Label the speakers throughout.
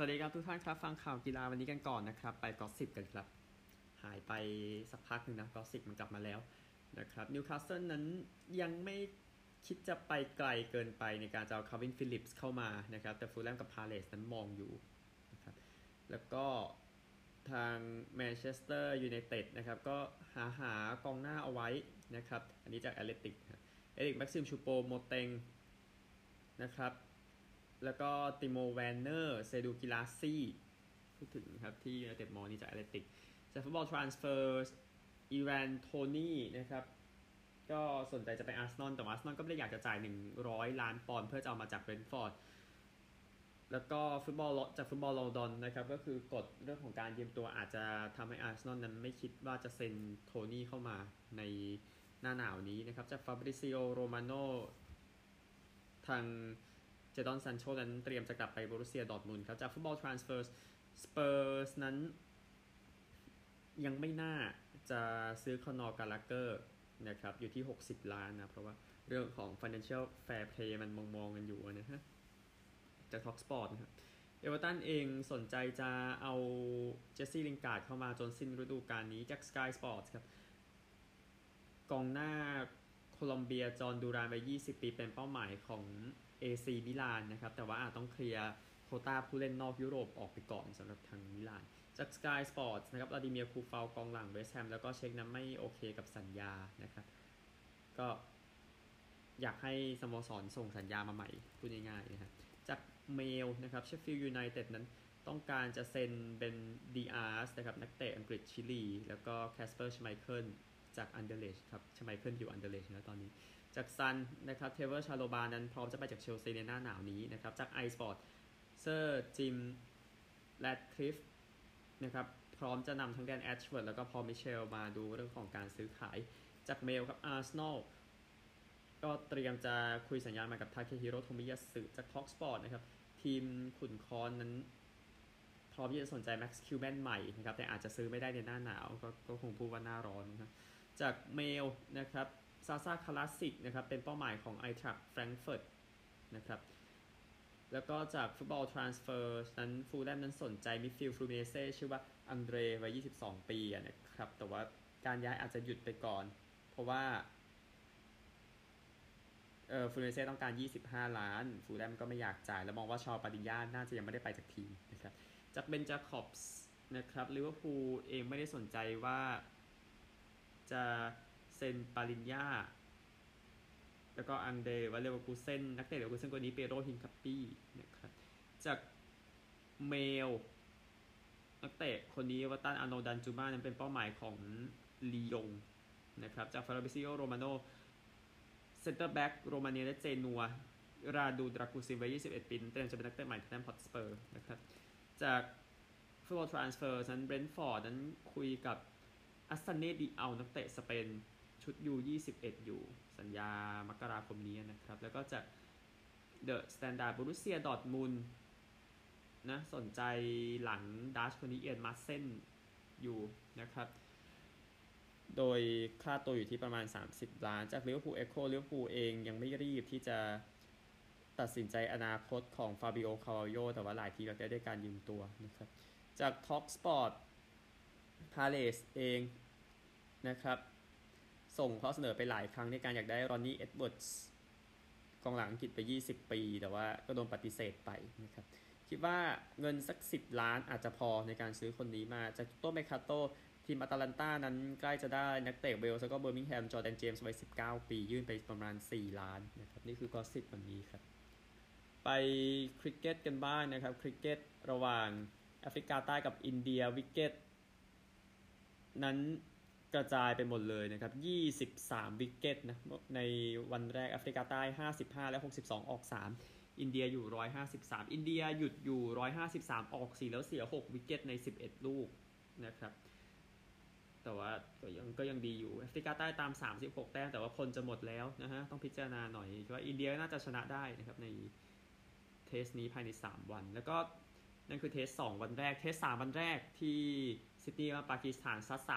Speaker 1: วัสดีครับทุกท่านครับฟังข่าวกีฬาวันนี้กันก่อนนะครับไปกอสซิปกันครับหายไปสักพักหนึ่งนะกอสซิปมันกลับมาแล้วนะครับนิวคาสเซิลนั้นยังไม่คิดจะไปไกลเกินไปในการจะเอาคาร์วินฟิลิปส์เข้ามานะครับแต่ฟูลแลมกับพาเลสนั้นมองอยู่นะครับแล้วก็ทางแมนเชสเตอร์ยูไนเต็ดนะครับก็หากองหน้าเอาไว้นะครับอันนี้จากแอตเลติกเอริกแม็กซิมชูโปโมเตงนะครับแล้วก็ติโมแวนเนอร์เซดูกิลาซี่พูดถึงครับที่ยูไนเต็ดมองนี่จากแอตเลติกจากฟุตบอลทรานสเฟอร์อีแวนโทนี่นะครับก็สนใจจะไปอาร์เซนอลแต่ว่าอาร์เซนอลก็ไม่ได้อยากจะจ่าย100 ล้านปอนด์เพื่อจะเอามาจากเบรนท์ฟอร์ดแล้วก็ฟุตบอลจากฟุตบอลลอนดอนนะครับก็คือกฎเรื่องของการยืมตัวอาจจะทำให้อาร์เซนอลนั้นไม่คิดว่าจะเซ็นโทนี่เข้ามาในหน้าหนาวนี้นะครับจากฟาบริซิโอโรมาโนทางเจดอนซันโชนั้นเตรียมจะกลับไปโบรุสเซียดอร์ทมุนด์ครับจากฟุตบอลทรานสเฟอร์สเปอร์สนั้นยังไม่น่าจะซื้อคอนอร์กาลาเกอร์นะครับอยู่ที่60 ล้านนะเพราะว่าเรื่องของ financial fair play มันมองกันอยู่นะฮะจากท็อกสปอร์ตนะครับเอเวอร์ตันเองสนใจจะเอาเจสซี่ลิงการ์ดเข้ามาจนสิ้นฤดูกาลนี้จากสกายสปอร์ตครับกองหน้าโคลอมเบียจอห์นดูรานวัย20 ปีเป็นเป้าหมายของAC มิลานนะครับแต่ว่าอาจต้องเคลียร์โควต้าผู้เล่นนอกยุโรปออกไปก่อนสำหรับทางมิลานจาก Sky Sports นะครับวลาดิเมียร์คูฟาวกองหลังเวสต์แฮมแล้วก็เช็คนั้นไม่โอเคกับสัญญานะครับก็อยากให้สโมสรส่งสัญญามาใหม่พูดง่ายๆนะครับจากเมลนะครับเชฟฟิลด์ยูไนเต็ดนั้นต้องการจะเซ็นเป็นดีอาร์สนะครับนักเตะอังกฤษชิลีแล้วก็แคสเปอร์ชไมเคิลจากอันเดอร์เลชครับชไมเคิลอยู่อันเดอร์เลชแล้วตอนนี้จากซันนะครับเทเวอร์ชาโลบานั้นพร้อมจะไปจากเชลซีในหน้าหนาวนี้นะครับจากไอสปอร์ตเซอร์จิมแรดคลิฟนะครับพร้อมจะนำทั้งแดนแอชเวิร์ดแล้วก็พอลมิเชลมาดูเรื่องของการซื้อขายจากเมลครับอาร์เซนอลก็เตรียมจะคุยสัญญามากับทาเคฮิโร่โทมิยาสึจากท็อกสปอร์ตนะครับทีมขุนคอนนั้นพร้อมที่จะสนใจแม็กซ์คิวแมนใหม่นะครับแต่อาจจะซื้อไม่ได้ในหน้าหนาวก็คงพูดว่าหน้าร้อนนะครับจากเมลนะครับซาซาคลาสสิกนะครับเป็นเป้าหมายของไอทรัคแฟรงก์เฟิร์ตนะครับแล้วก็จากฟุตบอลทรานสเฟอร์นั้นฟูลแลมนั้นสนใจมิดฟิลด์ฟลูเมเซ่ชื่อว่าอังเดรวัย22 ปีนะครับแต่ว่าการย้ายอาจจะหยุดไปก่อนเพราะว่าฟูลเมเซ่ต้องการ25 ล้านฟูลแลมก็ไม่อยากจ่ายแล้วมองว่าชอปาดิญญาน่าจะยังไม่ได้ไปจากทีมนะครับจากเบนจาคอบส์นะครับลิเวอร์พูลเองไม่ได้สนใจว่าจะเซ็นปาลิญญาแล้วก็อังเดรวัลเลวกูเซนนักเตะเลวกูเซนคนนี้เปโรฮินคัปปี้นะครับจากเมลนักเตะคนนี้วัตันอาโนดันจูมานั้นเป็นเป้าหมายของลียงนะครับจากฟาราบิซิโอโรมาโนเซนเตอร์แบ็กโรมาเนียและเจนัวราดูดรากูซิวัย21 ปีเตรียมจะเป็นนักเตะใหม่ที่แนมพอตสเปอร์นะครับจากฟุตบอลทรานสเฟอร์นั้นเบรนท์ฟอร์ดนั้นคุยกับอัสซันเน่ดิอัลนักเตะสเปนชุดU21อยู่สัญญามกราคมนี้นะครับแล้วก็จากเดอะสแตนดาร์ดบรูเซียดอร์ทมุนด์นะสนใจหลังดัชคนนี้เอียนมาเซนอยู่นะครับโดยค่าตัวอยู่ที่ประมาณ30 ล้านจากลิเวอร์พูลเอ็กโคลิเวอร์พูลเองยังไม่รีบที่จะตัดสินใจอนาคตของฟาบิโอคาร์วาโยแต่ว่าหลายทีก็ได้ด้วยการยืมตัวนะครับจากท็อกสปอร์ตพาเลสเองนะครับส่งข้อเสนอไปหลายครั้งในการอยากได้รอนนี่เอ็ดเวิร์ดส์กองหลังอังกฤษไป20 ปีแต่ว่าก็โดนปฏิเสธไปนะครับคิดว่าเงินสัก10 ล้านอาจจะพอในการซื้อคนนี้มาจากโตเมคาโตทีมอาตาลันตานั้นใกล้จะได้นักเตะเวลส์แล้วก็เบอร์มิงแฮมจอร์แดนเจมส์วัย19 ปียื่นไปประมาณ4 ล้านนะครับนี่คือกอสซิปวันนี้ครับไปคริกเก็ตกันบ้างนะครับคริกเก็ตระหว่างแอฟริกาใต้กับอินเดียวิกเก็ตนั้นกระจายไปหมดเลยนะครับ23 วิกเก็ตนะในวันแรกแอฟริกาใต้55และ62ออก3อินเดียอยู่153อินเดียหยุดอยู่153ออก4แล้วเสีย6วิกเก็ตใน11ลูกนะครับแต่ว่าก็ยังดีอยู่แอฟริกาใต้ตาม36แต้มแต่ว่าคนจะหมดแล้วนะฮะต้องพิจารณาหน่อยว่าอินเดียน่าจะชนะได้นะครับในเทสนี้ภายใน3วันแล้วก็นั่นคือเทส2วันแรกเทส3วันแรกที่ซิดนีย์ว่าปากีสถานซัด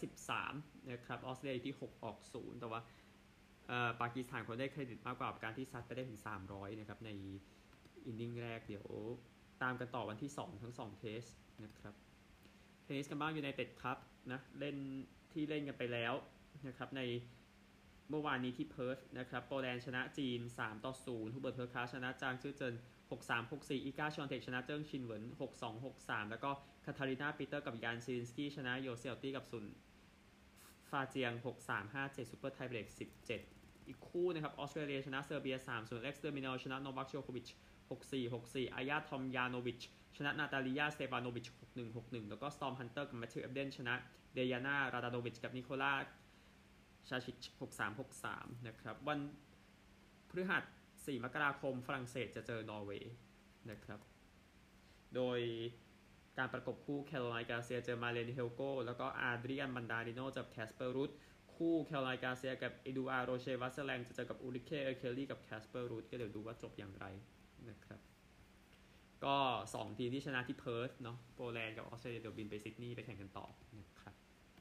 Speaker 1: 313นะครับออสเตรเลียที่6ออก0แต่ว่าปากีสถานคนได้เครดิตมากกว่าการที่ซัดไปได้ถึง300นะครับในอินนิ่งแรกเดี๋ยวตามกันต่อวันที่ 2 ทั้ง 2 เทสนะครับเทนนิสกันบ้างยูไนเต็ดครับนะเล่นกันไปแล้วนะครับในเมื่อวานนี้ที่เพิร์ธนะครับโปแลนด์ชนะจีน 3-0 ฮูเบิร์ตเพิร์คาชนะจางซื่อเจิน 6-3 6-4 อีกาชอนเทคชนะเจิ้งชินเหวิน 6-2 6-3 แล้วก็คาทารินาปีเตอร์กับยานซิลินสกี้ชนะโยเซลตี้กับซุนฟาเจียง 6-3 5-7 ซูเปอร์ไทเบรก 17 อีกคู่นะครับออสเตรเลียชนะเซอร์เบีย 3-0 เอ็กซ์เตอร์มินอลชนะโนวัคโจโควิช 6-4 6-4 อายาทอมยานโวิชชนะนาตาลียาสเตฟานโนวิช 6-1 6-1 แล้วก็สตอร์มฮันเตอร์กับแมทธิวเอฟเดนชนะเดยาน่าราดาโนวิชกับนิโคลาชาชิช 6-3 6-3 นะครับวันพฤหัส 4 มกราคมฝรั่งเศสจะเจอนอร์เวย์นะครับโดยการประกบคู่แคโรไลน์กาเซียเจอมาเลนเฮลโกแล้วก็อาดริอันบันดาริโนจากแคสเปอร์รูทคู่แคโรไลน์กาเซียกับเอดูอาร์โรเชวัสแลงจะเจอกับอูริเคเอเคลลี่กับแคสเปอร์รูทก็เดี๋ยวดูว่าจบอย่างไรนะครับก็2ทีมที่ชนะที่เพิร์ธเนาะโปแลนด์กับออสเตรเลียเดี๋ยวบินไปซิดนีย์ไปแข่งกันต่อนะครับ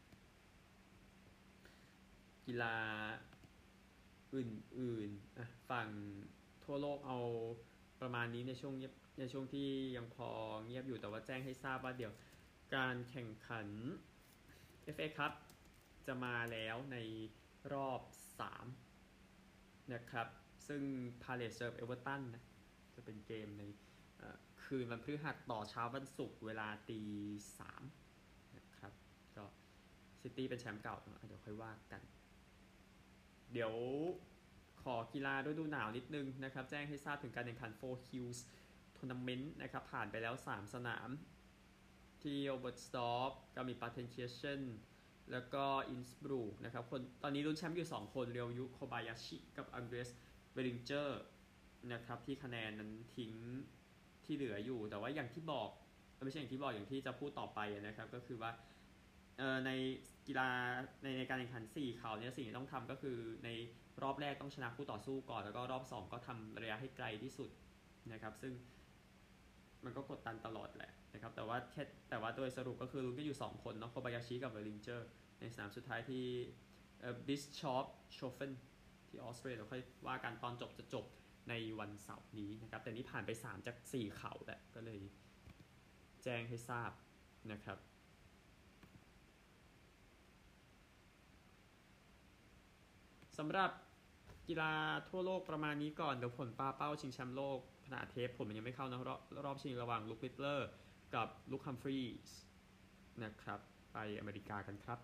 Speaker 1: กีฬาอื่นๆฝั่งทั่วโลกเอาประมาณนี้ในช่วงที่ยังพอเงียบอยู่แต่ว่าแจ้งให้ทราบว่าเดี๋ยวการแข่งขัน FA Cup จะมาแล้วในรอบ3นะครับซึ่ง Palace เจอ Everton นะจะเป็นเกมในคืนวันพฤหัสต่อเช้าวันศุกร์เวลา 3:00 นะครับก็ซิตี้เป็นแชมป์เก่าเดี๋ยวค่อยว่ากันเดี๋ยวขอกีฬาฤดูหนาวนิดนึงนะครับแจ้งให้ทราบถึงการแข่งขัน Four Hills Tournament นะครับผ่านไปแล้ว3สนามที่โอเบอร์สตอฟก็มีปาเทนเคียเชนแล้วก็อินสบรูกนะครับตอนนี้ลุ้นแชมป์อยู่2คนเรียวยุโคบายาชิกับอังเดรสเวลิงเจอร์นะครับที่คะแนนนั้นทิ้งที่เหลืออยู่แต่ว่าอย่างที่บอกไม่ใช่อย่างที่บอกอย่างที่จะพูดต่อไปนะครับก็คือว่าในกีฬาในการแข่งขัน4เขาเนี่ยสิ่งที่ต้องทำก็คือในรอบแรกต้องชนะคู่ต่อสู้ก่อนแล้วก็รอบ2ก็ทำระยะให้ไกลที่สุดนะครับซึ่งมันก็กดดันตลอดแหละนะครับแต่ว่าโดยสรุปก็คือลุ้นกันอยู่2คนเนาะโคบายาชิกับเวลิงเจอร์ในสนามสุดท้ายที่บิสชอปโชเฟนที่ออสเตรเลียเราค่อยว่ากันตอนจบจะจบในวันเสาร์นี้นะครับแต่นี่ผ่านไป3จาก4เขาแหละก็เลยแจ้งให้ทราบนะครับสำหรับกีฬาทั่วโลกประมาณนี้ก่อนเดี๋ยวผลปาเป้าชิงแชมป์โลกขณะเทปผมมันยังไม่เข้านะรอบชิงระหว่างลุคลิตเลอร์กับลุคฮัมฟรีส์นะครับไปอเมริกากันครับ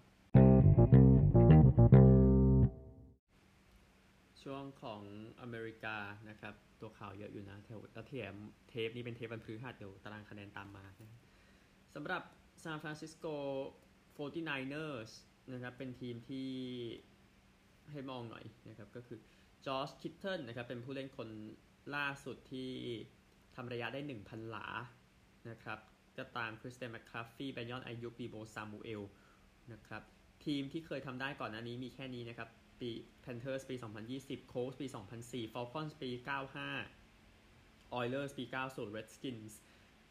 Speaker 1: ช่วงของอเมริกานะครับตัวข่าวเยอะอยู่นะแล้วเทปนี้เป็นเทปวันพฤหัสเดี๋ยวตารางคะแนนตามมานะสำหรับซานฟรานซิสโก 49ers นะครับเป็นทีมที่ให้มองหน่อยนะครับก็คือจอร์จคิทเทิลนะครับเป็นผู้เล่นคนล่าสุดที่ทำระยะได้ 1,000 หลานะครับก็ตามคริสเตียนแมคคาฟฟี่แบนยอนอายุปีโบซามูเอลนะครับทีมที่เคยทำได้ก่อนหน้านี้มีแค่นี้นะครับปี Panthers ปี 2020 Colts ปี 2004 Falcons ปี 95 Oilers ปี 90 Redskins ปี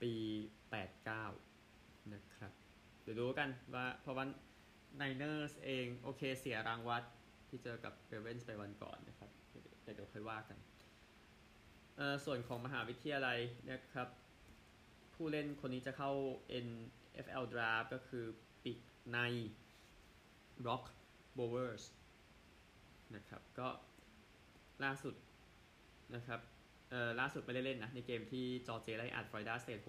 Speaker 1: 89 นะครับเดี๋ยวดูกันว่าเพราะว่า Niners เองโอเคเสียรางวัลที่เจอกับ Ravens ไปวันก่อนนะครับเดี๋ยวค่อยว่ากันส่วนของมหาวิทยาลัยนะครับผู้เล่นคนนี้จะเข้า NFL Draft ก็คือปีกใน Brock Bowers นะครับก็ล่าสุดนะครับล่าสุดไม่ได้เล่นนะในเกมที่จอร์เจียไล่อัดฟลอริดาสเตท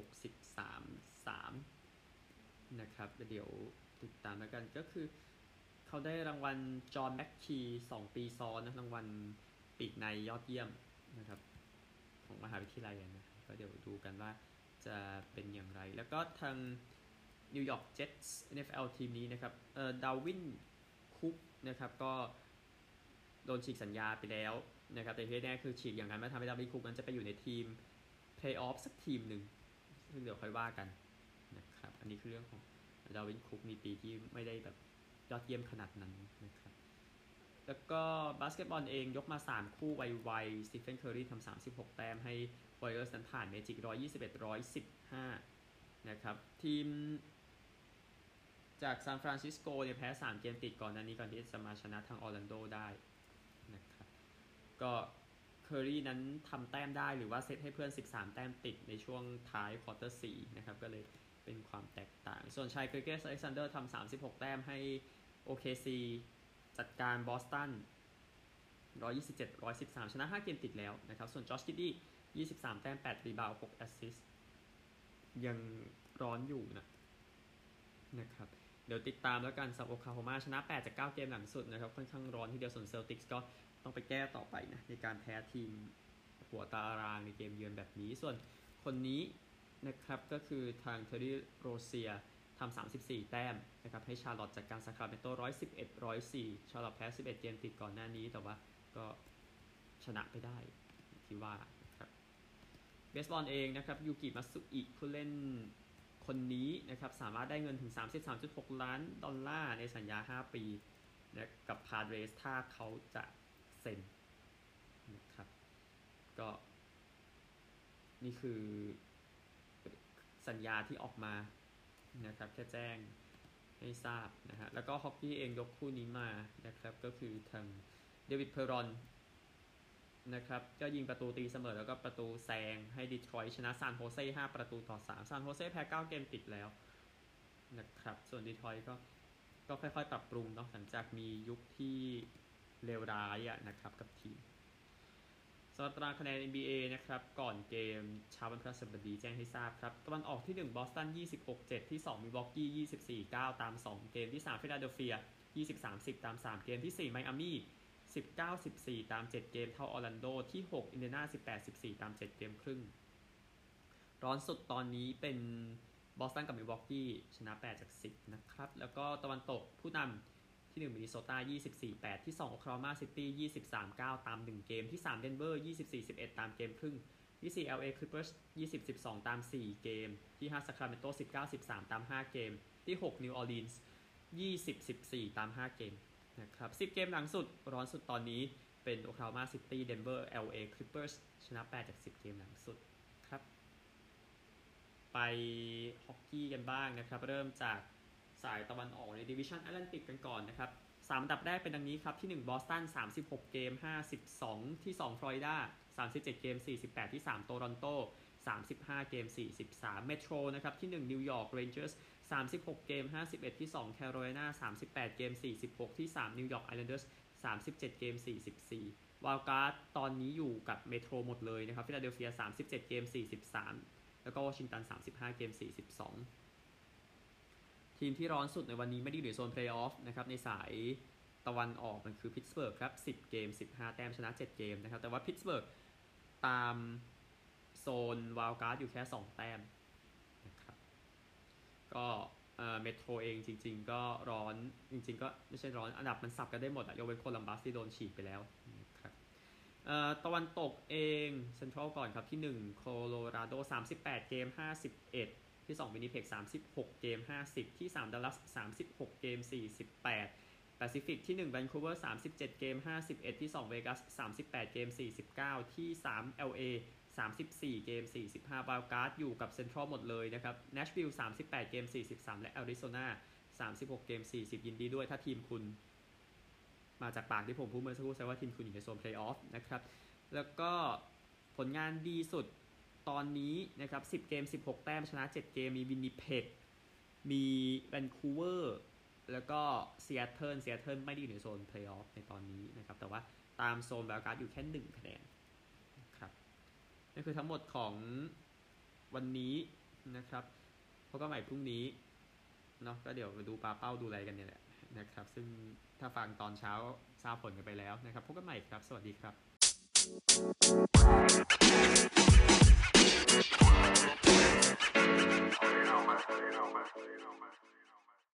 Speaker 1: 63-3 นะครับเดี๋ยวติดตามแล้วกันก็คือเขาได้รางวัลจอห์นแม็กคี2 ปีซ้อนนะรางวัลปีกในยอดเยี่ยมนะครับของมหาวิทยาลัยนะก็เดี๋ยวดูกันว่าจะเป็นอย่างไรแล้วก็ทางนิวยอร์กเจ็ตส์ NFL ทีมนี้นะครับดาวินคุกนะครับก็โดนฉีกสัญญาไปแล้วนะครับแต่ที่แน่คือฉีกอย่างนั้นมาทำให้ดาวินคุกนั้นจะไปอยู่ในทีมเพลย์ออฟสักทีมหนึ่งซึ่งเดี๋ยวค่อยว่ากันนะครับอันนี้คือเรื่องของดาวินคุกมีปีที่ไม่ได้แบบยอดเยี่ยมขนาดนั้นนะครับแล้วก็บาสเกตบอลเองยกมา3คู่ไวๆสตีเฟนเคอร์รีทำ36แต้มให้วอริเออร์สนั้นผ่านเมจิก 121-115 นะครับทีมจากซานฟรานซิสโกเนี่ยแพ้3เกมติดก่อนหน้านี้ก่อนที่จะมาชนะทางออร์แลนโดได้นะครับก็เคอรี่นั้นทำแต้มได้หรือว่าเซตให้เพื่อน13แต้มติดในช่วงท้ายควอเตอร์4นะครับก็เลยเป็นความแตกต่างส่วนชายเกรเกสอเล็กซานเดอร์ทำ36แต้มให้ OKC จัดการบอสตัน127-113ชนะ5เกมติดแล้วนะครับส่วนจอชกิดดี้23แต้ม8รีบาวด์6แอสซิสต์ยังร้อนอยู่นะครับเดี๋ยวติดตามแล้วกันสำหรับโอคลาโฮมาชนะ8จาก9เกมหลังสุดนะครับค่อนข้างร้อนทีเดียวส่วนเซลติกส์ก็ต้องไปแก้ต่อไปนะในการแพ้ทีมหัวตารางในเกมเยือนแบบนี้ส่วนคนนี้นะครับก็คือทางเทอร์รี่โรเซียทำ34แต้มนะครับให้ชาร์ลอตจากการซาคราเมนโต111-104ชาร์ลอตแพ้11เกมติดก่อนหน้านี้แต่ว่าก็ชนะไปได้ที่ว่าครับเบสบอลเองนะครับยูกิมัตสึอิผู้เล่นคนนี้นะครับสามารถได้เงินถึง 33.6 ล้านดอลลาร์ในสัญญา5ปีนะกับพาดเรสถ้าเขาจะเซ็นนะครับก็นี่คือสัญญาที่ออกมานะครับแค่แจ้งให้ทราบนะฮะแล้วก็ฮอกกี้เองยกคู่นี้มานะครับก็คือทางเดวิดเพอรอนนะครับก็ยิงประตูตีเสมอแล้วก็ประตูแซงให้ดีทรอยต์ชนะซานโฮเซ่5-3ซานโฮเซ่แพ้9เกมติดแล้วนะครับส่วนดีทรอยต์ก็ค่อยๆปรับปรุงเนาะหลังจากมียุคที่เลวร้ายนะครับกับทีมสำหรับตารางคะแนน NBA นะครับก่อนเกมเช้าวันพฤหัสบดีแจ้งให้ทราบครับตะวันออกที่1บอสตัน26-7ที่2มิลวอกกี้24-9ตาม2เกมที่3ฟิลาเดลเฟีย20-30ตาม3เกมที่4ไมอามี่19-14ตาม7เกมเท่าออร์แลนโดที่6อินเดียนา18-14ตาม7เกมครึ่งร้อนสุดตอนนี้เป็นบอสตันกับมิลวอกกี้ชนะ8จาก10นะครับแล้วก็ตะวันตกผู้นำที่1มินนิโซตา24-8ที่2โอคลาโฮมาซิตี้23-9ตาม1เกมที่3เดนเวอร์24-11ตามเกมครึ่งที่4 LA Clippers 20-12ตาม4เกมที่5 Sacramento 19-13ตาม5เกมที่6 New Orleans 20-14ตาม5เกมนะครับ10เกมหลังสุดร้อนสุดตอนนี้เป็นโอคลาโฮมาซิตี้เดนเวอร์ LA Clippers ชนะ8จาก10เกมหลังสุดครับไปฮอกกี้กันบ้างนะครับเริ่มจากสายตะวันออกในดิวิชั่นแอตแลนติกกันก่อนนะครับ3อันดับแรกเป็นดังนี้ครับที่1บอสตัน36เกม52ที่2ฟลอริดา37เกม48ที่3โตรอนโต35เกม43เมโทรนะครับที่1นิวยอร์กเรนเจอร์ส36เกม51ที่2แคโรไลนา38เกม46ที่3นิวยอร์กไอแลนเดอร์ส37เกม44วาลการ์ดตอนนี้อยู่กับเมโทรหมดเลยนะครับฟิลาเดลเฟีย37เกม43แล้วก็วอชิงตัน35เกม42ทีมที่ร้อนสุดในวันนี้ไม่ได้อยู่ในโซนเพลย์ออฟนะครับในสายตะวันออกมันคือพิตต์สเบิร์กครับ10เกม15แต้มชนะ7เกมนะครับแต่ว่าพิตต์สเบิร์กตามโซนวาลการ์ดอยู่แค่2แต้มนะครับก็เมโทรเองจริงๆก็ร้อนจริงๆก็ไม่ใช่ร้อนอันดับมันสับกันได้หมดยกเว้นโคลัมบัสที่โดนฉีกไปแล้วนะครับตะวันตกเองเซ็นทรัลก่อนครับที่1โคโลราโด38เกม51ที่2วินนิเพก36เกม50ที่3ดัลลัส36เกม48แปซิฟิกที่1แวนคูเวอร์37เกม51ที่2เวกัส38เกม49ที่3 LA 34เกม45วาลการ์ดอยู่กับเซ็นทรัลหมดเลยนะครับแนชวิลล์38เกม43และแอริโซนา36เกม40ยินดีด้วยถ้าทีมคุณมาจากปากที่ผมพูดเมื่อสักครู่แสดงว่าทีมคุณอยู่ในโซนเพลย์ออฟนะครับแล้วก็ผลงานดีสุดตอนนี้นะครับ10เกม16แต้มชนะ7เกมมีวินนิเพกมีแวนคูเวอร์แล้วก็ซีแอตเทิลไม่ได้อยู่ในโซนเพลย์ออฟในตอนนี้นะครับแต่ว่าตามโซนวาลการ์ดอยู่แค่1คะแนนนะครับนี่คือทั้งหมดของวันนี้นะครับพบกันใหม่พรุ่งนี้เนาะก็เดี๋ยวมาดูปาเป้าดูอะไรกันเนี่ยแหละนะครับซึ่งถ้าฟังตอนเช้าทราบผลกันไปแล้วนะครับพบกันใหม่ครับสวัสดีครับ